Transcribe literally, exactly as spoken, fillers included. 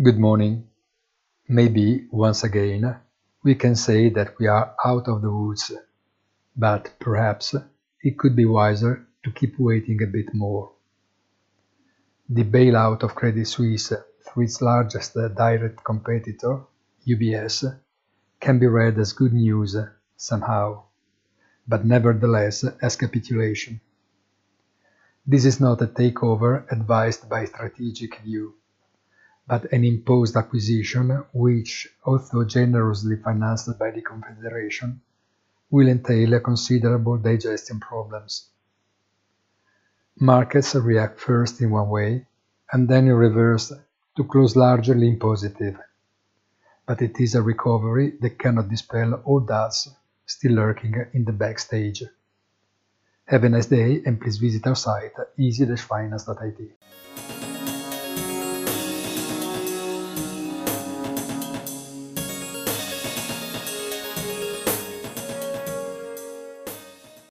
Good morning. Maybe, once again, we can say that we are out of the woods, but perhaps it could be wiser to keep waiting a bit more. The bailout of Credit Suisse through its largest direct competitor, U B S, can be read as good news somehow, but nevertheless as capitulation. This is not a takeover advised by strategic view, but an imposed acquisition which, although generously financed by the Confederation, will entail considerable digestion problems. Markets react first in one way, and then in reverse to close largely in positive. But it is a recovery that cannot dispel all doubts still lurking in the backstage. Have a nice day and please visit our site easy dash finance dot I T.